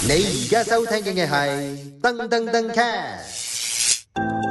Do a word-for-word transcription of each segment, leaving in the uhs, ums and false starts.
你而家收聽嘅係噔噔噔 cast。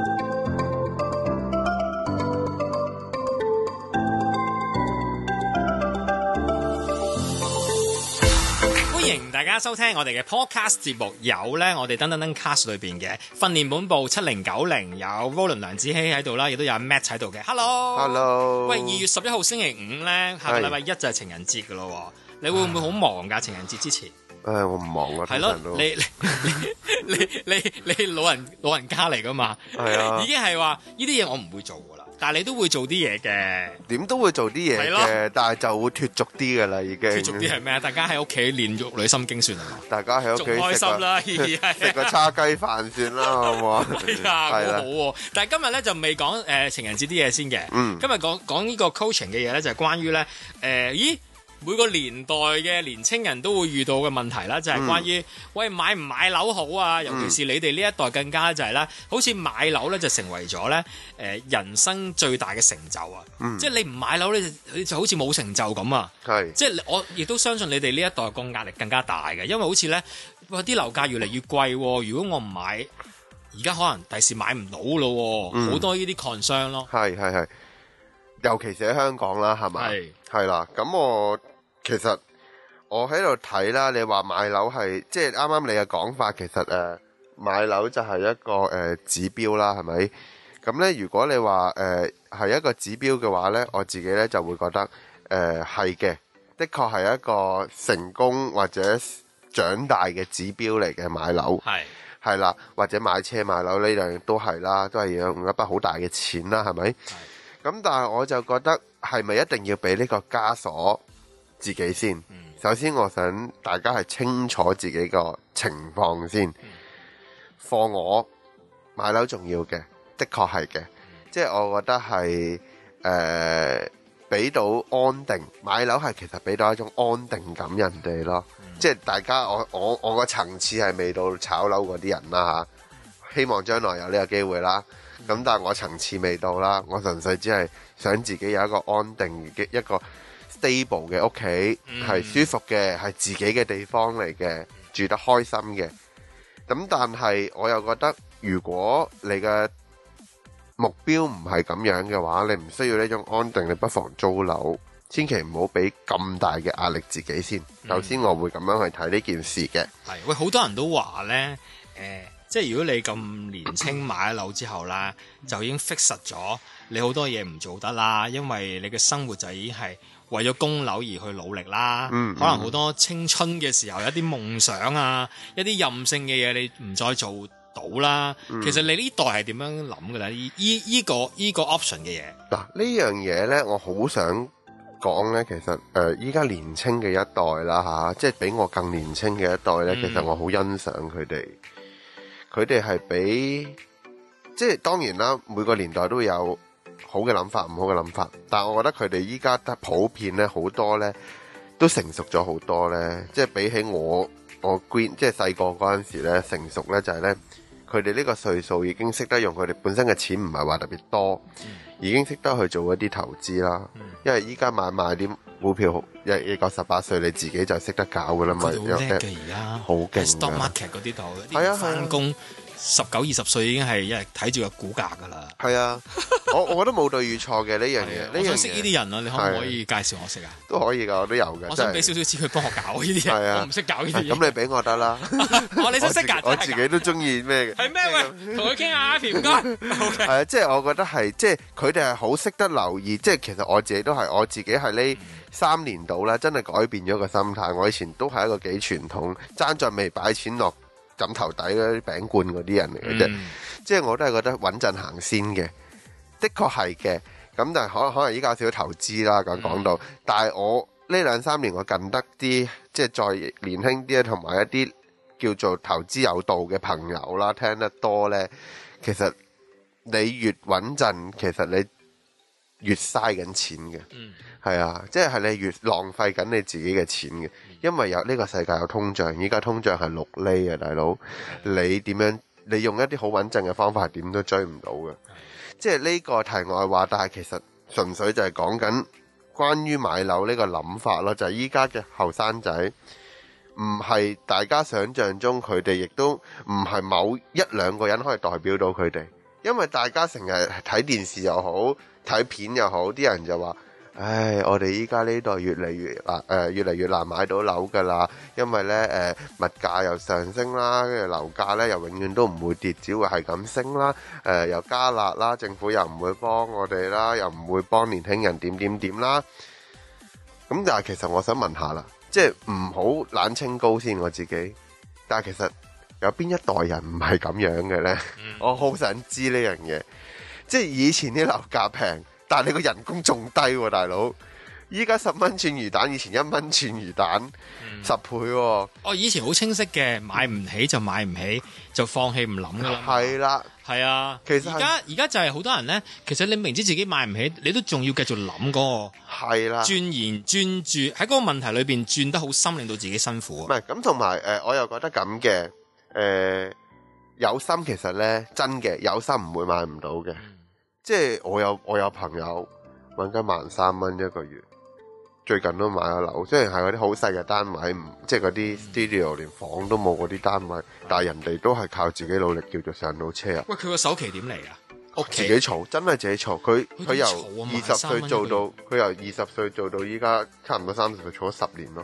歡迎大家收聽我哋嘅 podcast 節目，有咧我哋噔噔噔 cast 裏邊嘅訓練本部七零九零，有 Roland 梁子希喺度啦，亦都有 Matt 喺度嘅。Hello，Hello。喂，二月十一號星期五咧，下個禮拜一就係情人節噶咯，你會唔會好忙噶？情人節之前？ 誒，我唔忙啊， 係咯，你你你你你你老人老人家嚟噶嘛？係啊，已經係話呢啲嘢我唔會做噶啦，但係你都會做啲嘢嘅， 點都會做啲嘢嘅，但係就會脫俗啲噶啦，已經脫俗啲係咩啊？大家喺屋企練玉女心經算係嘛？ 大家喺屋企仲開心啦， 食個叉雞飯算啦，好唔好啊？ 係啊，好好喎！但係今日咧就未講誒情人節啲嘢先嘅， 嗯， 今日講講呢個 coaching 嘅嘢咧，就係關於咧誒，咦？每個年代嘅年青人都會遇到嘅問題啦，就係、是、關於、嗯、喂買唔買樓好啊？尤其是你哋呢一代更加就係、是、咧，好似買樓咧就成為咗咧誒人生最大嘅成就啊！嗯、即係你唔買樓咧，你就好似冇成就咁啊！ 係即係我亦都相信你哋呢一代個壓力更加大嘅，因為好似咧哇啲樓價越嚟越貴喎，如果我唔買，而家可能第時買唔到咯，好、嗯、多呢啲 concern 咯。 係係係。尤其是喺香港啦，係咪？係係啦，咁我其實我喺度睇啦。你話買樓係即係啱啱你嘅講法，其實誒、呃、買樓就係一個誒、呃、指標啦，係咪？咁咧，如果你話誒係一個指標嘅話咧，我自己咧就會覺得誒係嘅，的確係一個成功或者長大嘅指標嚟嘅買樓。係係啦，或者買車買樓呢樣都係啦，都係要用一筆好大嘅錢啦，係咪？咁但係我就覺得係咪一定要俾呢個枷鎖自己先？嗯、首先我想大家係清楚自己個情況先。放、嗯、我買樓重要嘅，的確係嘅。即、嗯、係、就是、我覺得係誒俾到安定，買樓係其實俾到一種安定感人哋咯。即、嗯、係、就是、大家我我我個層次係未到炒樓嗰啲人啦吓，希望將來有呢個機會啦。咁但係我層次未到啦，我純粹只係想自己有一個安定嘅一個 stable 嘅屋企，係舒服嘅，係自己嘅地方嚟嘅，住得開心嘅。咁但係我又覺得，如果你嘅目標唔係咁樣嘅話，你唔需要呢種安定，你不妨租樓，千祈唔好俾咁大嘅壓力自己先。首先我會咁樣去睇呢件事嘅。係喂，好多人都話呢。誒、呃。即係如果你咁年青買咗樓之後啦，就已經 fix 實咗你好多嘢唔做得啦，因為你嘅生活就已經係為咗供樓而去努力啦。嗯嗯、可能好多青春嘅時候有啲夢想啊，一啲任性嘅嘢你唔再做到啦。嗯、其實你呢代係點樣諗㗎啦？依依個依、這個 option 嘅嘢嗱，呢樣嘢咧，我好想講咧。其實誒，依、呃、家年青嘅一代啦嚇、啊，即係比我更年青嘅一代咧，嗯、其實我好欣賞佢哋。佢哋係比即係當然啦，每個年代都有好嘅諗法，唔好嘅諗法。但係我覺得佢哋依家得普遍咧，好多咧都成熟咗好多咧。即係比起我我 green 即係細個嗰陣時咧，成熟咧就係咧，佢哋呢個歲數已經識得用佢哋本身嘅錢，唔係話特別多，嗯、已經識得去做一啲投資啦。嗯、因為依家買賣啲股票，一一個十八歲你自己就識得搞噶啦嘛。 佢哋好叻嘅而家， 好勁。 stock market 嗰啲度，係啊，翻工十九二十歲已經係一日睇住個股價噶啦。係啊， 我我覺得冇對與錯嘅呢樣嘢。 我想識呢啲人啊，你可唔可以介紹我識啊？ 都可以噶，我都有嘅。 我想俾少少錢佢幫我搞呢啲嘢，我唔識搞呢啲嘢。 咁你俾我得啦。 我你識識㗎？ 我自己都中意咩嘅？ 係咩？喂，同佢傾下，Ivy 唔該。 係啊，即係我覺得係，即係佢哋係好識得留意。即係其實我自己都係，我自己係呢三年度啦，真係改變咗個心態。我以前都係一個幾傳統，爭在未擺錢落枕頭底嗰啲餅罐嗰啲人嚟嘅啫，嗯、即係我都係覺得穩陣行先嘅，的確係嘅。咁但係可可能依家有少少投資啦，咁講到，嗯、但係我呢兩三年我近得啲，即係再年輕啲同埋一啲叫做投資有道嘅朋友啦，聽得多呢，其實你越穩陣，其實你越嘥緊錢嘅。嗯係啊，即係你越浪費緊你自己嘅錢嘅，因為有呢個世界有通脹，依家通脹係六厘啊，大佬，你點樣？你用一啲好穩陣嘅方法係點都追唔到嘅。即係呢個題外話，但係其實純粹就係講緊關於買樓呢個諗法咯，就係依家嘅後生仔唔係大家想象中，佢哋亦都唔係某一兩個人可以代表到佢哋，因為大家成日睇電視又好，睇片又好，啲人就話。唉，我哋依家呢代越嚟越難，誒、呃、越嚟越難買到樓㗎啦，因為咧誒、呃、物價又上升啦，跟住樓價咧又永遠都唔會跌，只會係咁升啦，誒、呃、又加辣啦，政府又唔會幫我哋啦，又唔會幫年輕人點點點啦。咁但係其實我想問下啦，即係唔好冷清高先我自己，但係其實有邊一代人唔係咁樣嘅咧？嗯、我好想知呢樣嘢，即係以前啲樓價平。但係你個人工仲低喎、啊，大佬！依家十蚊串魚蛋，以前一蚊串魚蛋，嗯、十倍喎、啊。哦， 以前好清晰嘅，買唔起就買唔起，就放棄唔諗噶啦。 係啦， 係啊。其實而家而家就係好多人咧，其實你明知自己買唔起，你都仲要繼續諗嗰個。係啦。鑽研專注喺嗰個問題裏邊轉得好深，令到自己辛苦。 唔係咁，同埋誒，我又覺得咁嘅，誒、呃、有心其實咧真嘅，有心唔會買唔到嘅。嗯即係我有我有朋友揾緊萬三蚊一個月，最近都買咗樓，雖然係嗰啲好細嘅單位，唔即係嗰啲 studio 連房都冇嗰啲單位，但係人哋都係靠自己努力叫做上到車啊！ 喂，佢個首期點嚟啊？屋自己儲，真係自己儲。佢佢由二十歲做到，佢由二十歲做到依家差唔多三十歲，儲咗十年咯。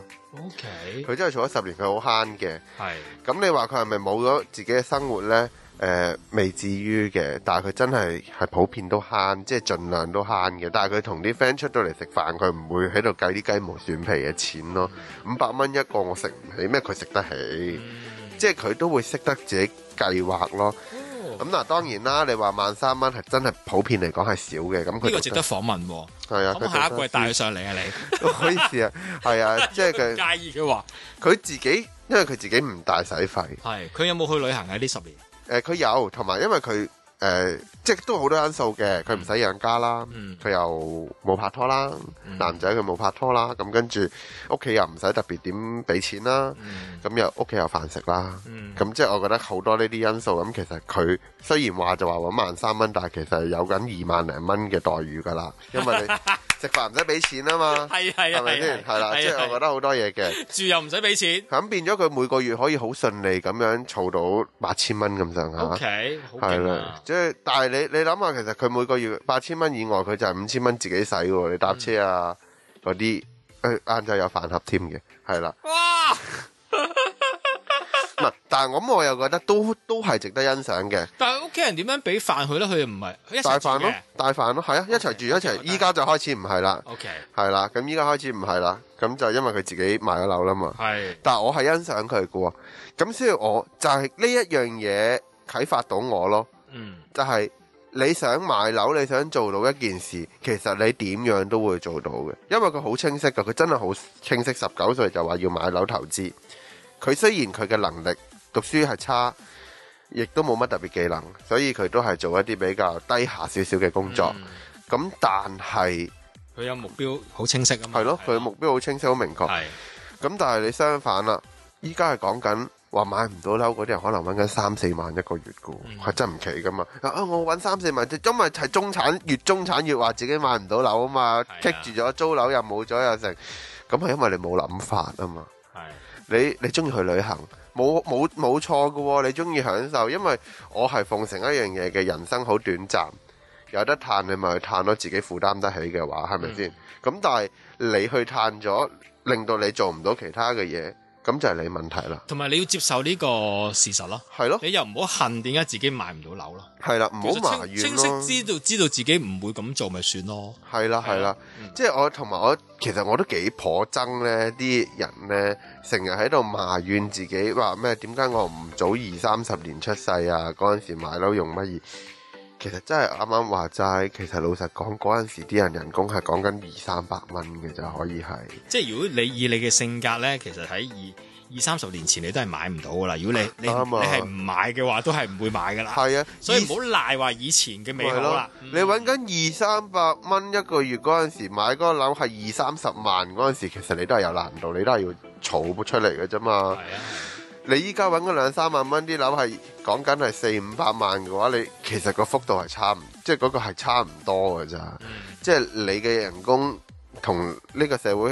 OK，佢真係儲咗十年，佢好慳嘅。 係咁你話佢係咪冇咗自己嘅生活咧？誒、呃、未至於嘅，但係佢真係係普遍都慳，即係盡量都慳嘅。但係佢同啲 friend 出到嚟食飯，佢唔會喺度計啲雞毛蒜皮嘅錢咯。五百蚊一個我食唔起，咩佢食得起？嗯、即係佢都會識得自己計劃咯。咁嗱、哦，當然啦，你話萬三蚊係真係普遍嚟講係少嘅。咁佢呢個值得訪問喎。 係啊， 咁下一季帶佢上嚟啊，你唔好意思啊，係啊，即係佢介意嘅話， 佢自己因為佢自己唔大使費。係， 佢有冇去旅行喺呢十年？ 誒佢、呃、有，同埋因為佢誒、呃、即係都好多因素嘅，佢唔使養家啦，佢、嗯、又冇拍拖啦，嗯、男仔佢冇拍拖啦，咁跟住屋企又唔使特別點俾錢啦，咁、嗯、又屋企有飯食啦，咁、嗯、即係我覺得好多呢啲因素，咁其實佢雖然話就話揾萬三蚊，但係其實有緊二萬零蚊嘅待遇㗎啦，因為你。食飯唔使俾錢啊嘛，係係係咪先？係啦，即係我覺得好多嘢嘅， 住又唔使俾錢， 咁變咗佢每個月可以好順利咁樣儲到八千蚊咁上下。 O K， 係啦，即係但係你你諗下，其實佢每個月八千蚊以外，佢就係五千蚊自己使喎。你搭車啊嗰啲，誒晏晝有飯盒添嘅，係啦。哇！唔係，但係我咁我又覺得都都係值得欣賞嘅。 但係屋企人點樣俾飯佢咧？佢又唔係一齊帶飯咯，帶飯咯，係啊，一齊住一齊。依家就開始唔係啦。 OK， 係啦，咁依家開始唔係啦。咁就因為佢自己買咗樓啦嘛。係，但係我係欣賞佢嘅喎。咁所以我就係呢一樣嘢啟發到我咯。嗯，就係你想買樓，你想做到一件事，其實你點樣都會做到嘅，因為佢好清晰㗎。佢真係好清晰，十九歲就話要買樓投資。佢雖然佢嘅能力讀書係差，亦都冇乜特別技能，所以佢都係做一啲比較低下少少嘅工作。咁、嗯、但係佢有目標好清晰啊嘛。 係咯，佢目標好清晰、好明確。係。咁但係你相反啦，依家係講緊話買唔到樓嗰啲人，可能揾緊三四萬一個月嘅，係、嗯、真唔奇噶嘛。啊，我揾三四萬，因為係中產，越中產越話自己買唔到樓啊嘛，棘住咗租樓又冇咗又成，咁係因為你冇諗法啊嘛。你你中意去旅行，冇冇冇錯㗎喎，你中意享受，因為我係奉承一樣嘢嘅，人生好短暫，有得嘆你咪去嘆咯，自己負擔得起嘅話，係咪先？咁、嗯、但係你去嘆咗，令到你做唔到其他嘅嘢，咁就係你問題啦。 同埋你要接受呢個事實咯，係咯，你又唔好恨點解自己買唔到樓咯，係啦，唔好埋怨咯。清晰知道知道自己唔會咁做咪算咯， 係啦係啦，即係我同埋我其實我都幾頗憎咧啲人咧，成日喺度埋怨自己話咩？點解我唔早二三十年出世啊？嗰陣時買樓用乜嘢？其實真係啱啱話齋，其實老實講，嗰陣時啲人人工係講緊二三百蚊嘅就可以係。即係如果你以你嘅性格咧，其實喺二二三十年前你都係買唔到噶啦。如果你你、啊、你係唔買嘅話，都係唔會買噶啦。係啊，所以唔好賴話以前嘅美好啦。嗯、你揾緊二三百蚊一個月嗰陣時買嗰個樓係二三十萬嗰陣時，其實你都係有難度，你都係要儲出嚟嘅啫嘛。係啊。你依家揾嗰兩三萬蚊啲樓係講緊係四五百萬嘅話，你其實個幅度係差唔，即係嗰個係差唔多嘅咋。嗯、即係你嘅人工同呢個社會嗰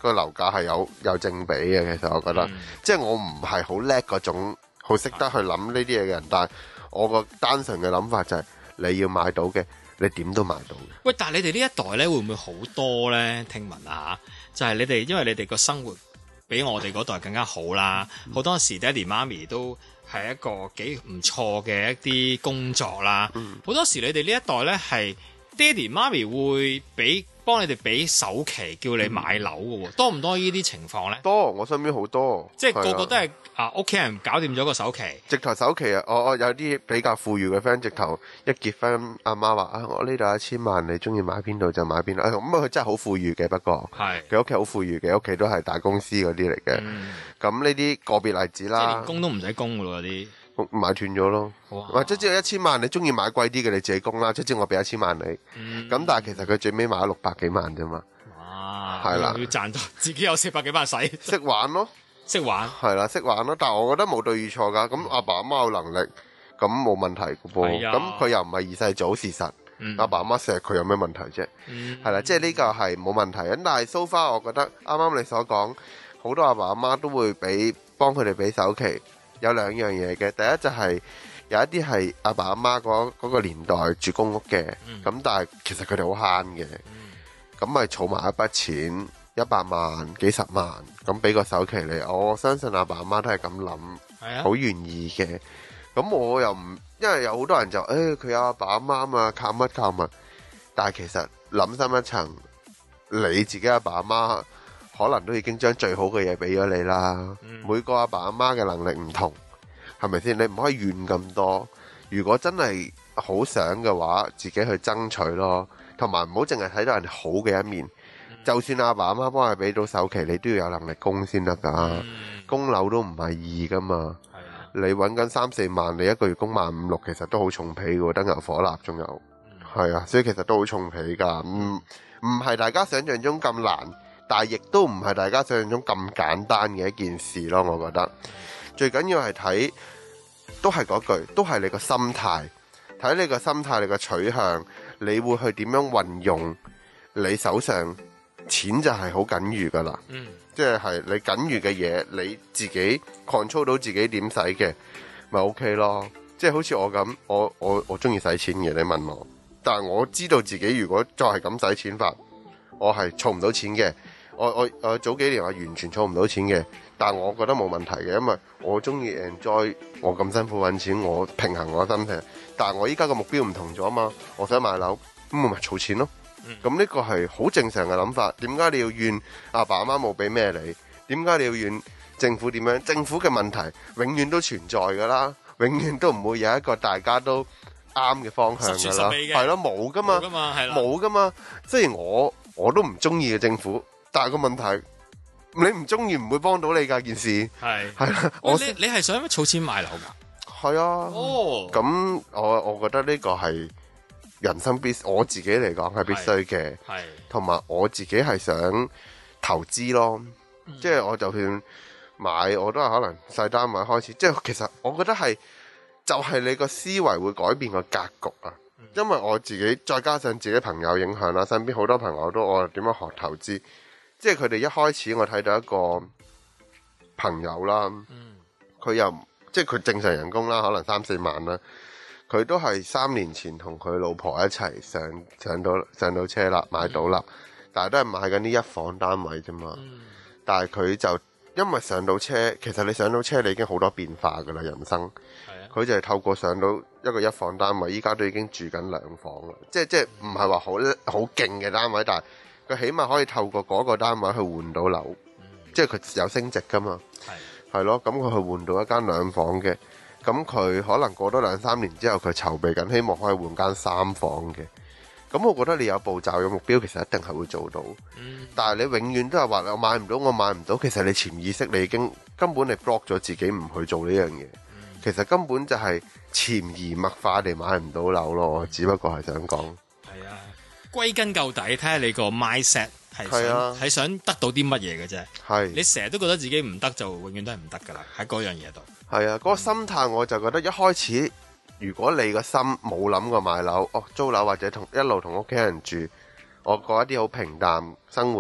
個樓價係有有正比嘅。其實我覺得，嗯、即係我唔係好叻嗰種，好識得去諗呢啲嘢嘅人，但係我個單純嘅諗法就係、是、你要買到嘅，你點都買到嘅。 喂，但係你哋呢一代咧會唔會好多咧？聽聞啊，就係、是、你哋因為你哋個生活比我哋嗰代更加好啦，好、嗯、多時爹哋媽咪都係一個幾唔錯嘅一啲工作啦。好、嗯、多時你哋呢一代咧係爹哋媽咪會俾幫你哋俾首期叫你買樓嘅喎，多唔多呢啲情況咧？ 多，我身邊好多， 即係個個都係啊屋企人搞掂咗個首期， 直頭首期啊！我我有啲比較富裕嘅 friend，直頭一結婚，阿媽話啊，我呢度一千萬，你中意買邊度就買邊度。咁啊，佢真係好富裕嘅，不過係佢屋企好富裕嘅，屋企都係大公司嗰啲嚟嘅。咁呢啲個別例子啦， 即係連供都唔使供嘅咯，嗰啲。 買斷咗咯，或者只有一千萬，你中意買貴啲嘅你自己供啦，即係我俾一千萬你，咁、嗯、但係其實佢最尾買咗六百幾萬啫嘛，係啦， 要賺到自己有四百幾萬使， 識玩咯， 識玩， 係啦，識玩咯，但係我覺得冇對與錯噶，咁阿爸阿媽有能力，咁冇問題嘅噃，咁佢又唔係二世祖事實，阿、嗯、爸阿媽錫佢有咩問題啫？係、嗯、啦，即係呢個係冇問題，咁但係 so far 我覺得啱啱你所講，好多阿爸阿媽都會俾幫佢哋俾首期。有兩樣嘢嘅，第一就係有一啲係阿爸阿媽嗰嗰個年代住公屋嘅，咁、嗯、但係其實佢哋好慳嘅，咁咪儲埋一筆錢，一百萬、幾十萬，咁俾個首期你，我相信阿爸阿媽都係咁諗，好、啊、願意嘅。咁我又唔，因為有好多人就誒佢有阿爸阿媽嘛，靠乜靠乜，但係其實諗深一層，你自己阿爸阿媽可能都已經將最好嘅嘢俾咗你啦、嗯。每個阿爸阿媽嘅能力唔同，係咪先？你唔可以怨咁多。如果真係好想嘅話，自己去爭取咯。同埋唔好淨係睇到人哋好嘅一面。嗯、就算阿爸阿媽幫你俾到首期，你都要有能力供先得噶。嗯、供樓都唔係易噶嘛。你揾緊三四萬，你一個月供萬五六，其實都好重皮嘅，燈油火蠟仲有。係、嗯、啊，所以其實都好重皮噶。唔唔係大家想象中咁難。但係亦都唔係大家想象中咁簡單嘅一件事咯，我覺得最緊要係睇，都係嗰句，都係你個心態，睇你個心態，你個取向，你會去點樣運用你手上錢就係好緊裕噶啦，嗯，即係係你緊裕嘅嘢，你自己 control 到自己點使嘅，咪 OK 咯，即係好似我咁，我我我中意使錢嘅，你問我，但係我知道自己如果再係咁使錢法，我係儲唔到錢嘅。我我我早幾年我完全儲唔到錢嘅，但係我覺得冇問題嘅，因為我中意 enjoy 我咁辛苦揾錢，我平衡我心情。但係我依家個目標唔同咗嘛，我想買樓，咁我咪儲錢咯。咁、嗯、呢個係好正常嘅諗法。點解你要怨阿爸阿媽冇俾咩你？點解你要怨政府點樣？政府嘅問題永遠都存在㗎啦，永遠都唔會有一個大家都啱嘅方向㗎啦。係咯，冇㗎嘛，冇㗎嘛。雖然我我都唔中意嘅政府。但係個問題，你唔中意唔會幫到你㗎件事。係係啦，我你你係想儲錢買樓㗎？ 係啊。哦。咁我我覺得呢個係人生必，我自己嚟講係必須嘅。係。同埋我自己係想投資咯，嗯、即係我就算買，我都係可能細單位開始。即係其實我覺得係，就係、是、你個思維會改變個格局啊。嗯、因為我自己再加上自己朋友影響啦，身邊好多朋友都我點樣學投資。即係佢哋一開始我睇到一個朋友啦，佢、嗯、又即係佢正常人工啦，可能三四萬啦，佢都係三年前同佢老婆一齊上上到上到車啦，買到啦、嗯，但係都係買緊啲一房單位啫嘛、嗯。但係佢就因為上到車，其實你上到車你已經好多變化噶啦，人生。佢就係透過上到一個一房單位，依家都已經住緊兩房啦。即係即係唔係話好好勁嘅單位，但係。佢起碼可以透過嗰個單位去換到樓，嗯、即係佢有升值噶嘛，係係咯，咁佢去換到一間兩房嘅，咁佢可能過多兩三年之後，佢籌備緊，希望可以換間三房嘅，咁我覺得你有步驟有目標，其實一定係會做到，嗯、但係你永遠都係話我買唔到，我買唔到，其實你潛意識你已經根本你 block 咗自己唔去做呢樣嘢，其實根本就係潛移默化地買唔到樓咯，我只不過係想講。 歸根究底，睇下你個 mindset 係想係、啊、想得到啲乜嘢嘅啫。係你成日都覺得自己唔得，就永遠都係唔得噶啦。喺嗰樣嘢度。係啊，嗰、嗰個心態我就覺得一開始，如果你個心冇諗過買樓，哦租樓或者同一路同屋企人住，我過一啲好平淡生活，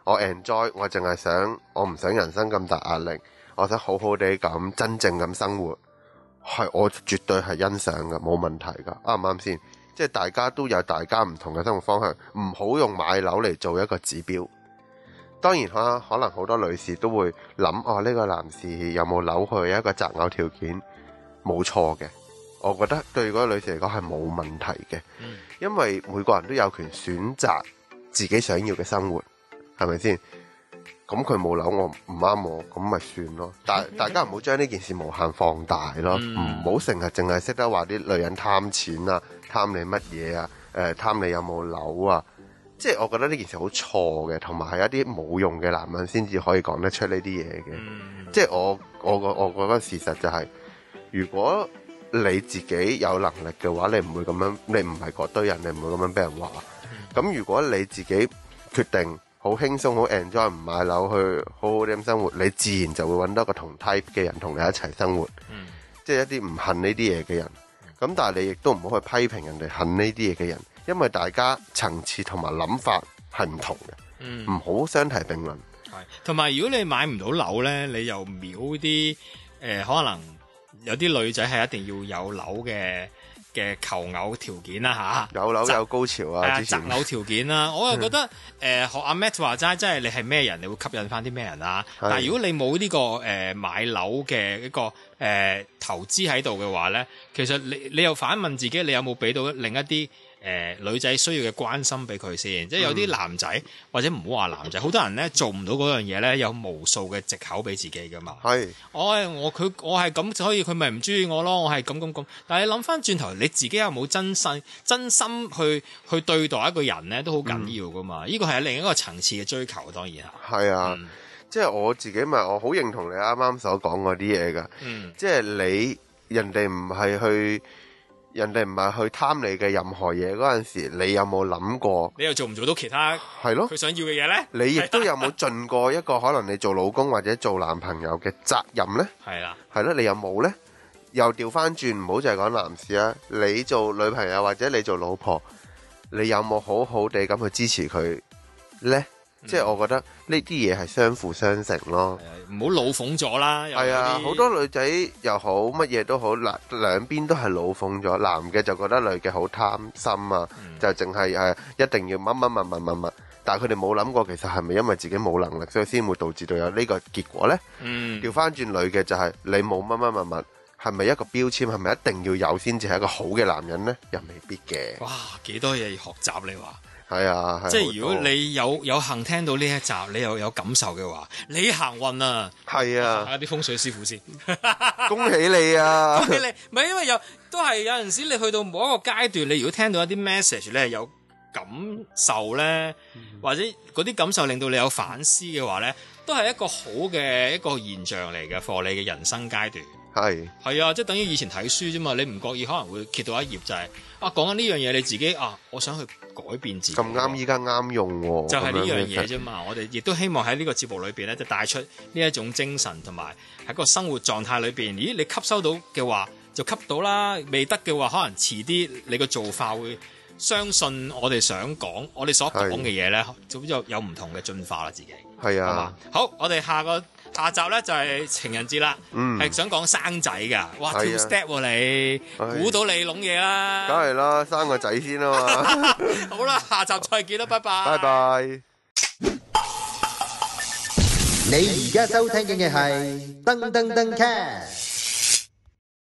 我 enjoy， 我淨係想我唔想人生咁大壓力，我想好好地咁真正咁生活，係我絕對係欣賞嘅，冇問題噶，啱唔啱先？即係大家都有大家唔同嘅生活方向，唔好用買樓嚟做一個指標。當然啦，可能好多女士都會諗，哦，呢個男士有冇樓去一個擇偶條件，冇錯嘅。我覺得對嗰個女士嚟講係冇問題嘅，因為每個人都有權選擇自己想要嘅生活，係咪先？咁佢冇樓，我唔啱我，咁咪算咯。但大家唔好將呢件事無限放大咯，唔好成日淨係識得話啲女人貪錢啊，貪你乜嘢啊，誒貪你有冇樓啊。即係我覺得呢件事好錯嘅，同埋係一啲冇用嘅男人先至可以講得出呢啲嘢嘅。即係我我個我覺得事實就係，如果你自己有能力嘅話，你唔會咁樣，你唔係嗰堆人，你唔會咁樣俾人話。咁如果你自己決定好輕鬆好 enjoy 唔買樓去好好啲咁生活，你自然就會揾到一個同 type 嘅人同你一齊生活。嗯、即係一啲唔恨呢啲嘢嘅人。咁但係你亦都唔好去批評人哋恨呢啲嘢嘅人，因為大家層次同埋諗法係唔同嘅，唔好相提並論。 係，同埋如果你買唔到樓呢，你又秒啲誒，可能有啲女仔係一定要有樓嘅嘅求偶條件啦嚇， 有樓有高潮啊， 擇偶條件啦，我又覺得誒、呃、學阿 Matt 話齋，即係你係咩人，你會吸引翻啲咩人啊？但係如果你冇呢、這個誒、呃、買樓嘅一個誒、呃、投資喺度嘅話咧，其實你你又反問自己，你有冇俾到另一啲誒、呃、女仔需要嘅關心俾佢先？即係有啲男仔、嗯、或者唔好話男仔，好多人咧做唔到嗰樣嘢咧，有無數嘅藉口俾自己噶嘛。係，我我佢我係咁，所以佢咪唔中意我咯。我係咁咁咁。但係你諗翻轉頭，你自己有冇真心真心去去對待一個人咧，都好緊要噶嘛。呢個係另一個層次嘅追求，當然係。係啊，嗯、 即係我自己咪我好認同你啱啱所講嗰啲嘢噶。嗯，即係你人哋唔係去。人哋唔係去貪你嘅任何嘢嗰陣時，你有冇諗過？ 你又做唔做到其他？係咯，佢想要嘅嘢咧？ 你亦都有冇盡過一個可能你做老公或者做男朋友嘅責任咧？係啦，係咯，你有冇咧？又調翻轉，唔好就係講男士啊！你做女朋友或者你做老婆，你有冇好好地咁去支持佢咧？嗯、即係我覺得呢啲嘢係相輔相成咯。 唔好老諷咗啦。係啊， 好多女仔又好，乜嘢都好，嗱兩邊都係老諷咗。男嘅就覺得女嘅好貪心啊，嗯、就淨係誒一定要乜乜乜乜乜乜，但係佢哋冇諗過，其實係咪因為自己冇能力，所以先會導致到有呢個結果咧？嗯，調翻轉女嘅就係、是、你冇乜乜乜乜，係咪一個標籤？係咪一定要有先至係一個好嘅男人咧？又未必嘅。 哇，幾多嘢要學習你話？ 係啊， 即係如果你有有幸聽到呢一集，你又有感受嘅話，你行運啊！ 係啊， 睇下啲風水師傅先， 恭喜你啊！ 恭喜你，唔係因為有都係有陣時你去到某一個階段，你如果聽到一啲 message 咧有感受咧，嗯、或者嗰啲感受令到你有反思嘅話咧，都係一個好嘅一個現象嚟嘅，for你嘅人生階段。係係啊，即係等於以前睇書啫嘛，你唔覺意可能會揭到一頁就係、是、啊講緊呢樣嘢，你自己啊，我想去改變自己。咁啱依家啱用喎，就係呢樣嘢啫嘛。我哋亦都希望喺呢個節目裏邊咧，就帶出呢一種精神同埋喺個生活狀態裏邊。咦，你吸收到嘅話就吸到啦，未得嘅話可能遲啲你個做法會相信我哋想講，我哋所講嘅嘢咧，就有有唔同嘅進化啦，自己係啊。好，我哋下個。下集咧就係、是、情人節啦，係、嗯、想講生仔噶，哇跳 step 喎、啊、你，估到你攏嘢啦， 梗係啦，生個仔先啊嘛。 好啦，下集再見啦，拜拜。 拜拜。 你而家收聽嘅係噔噔噔 cast。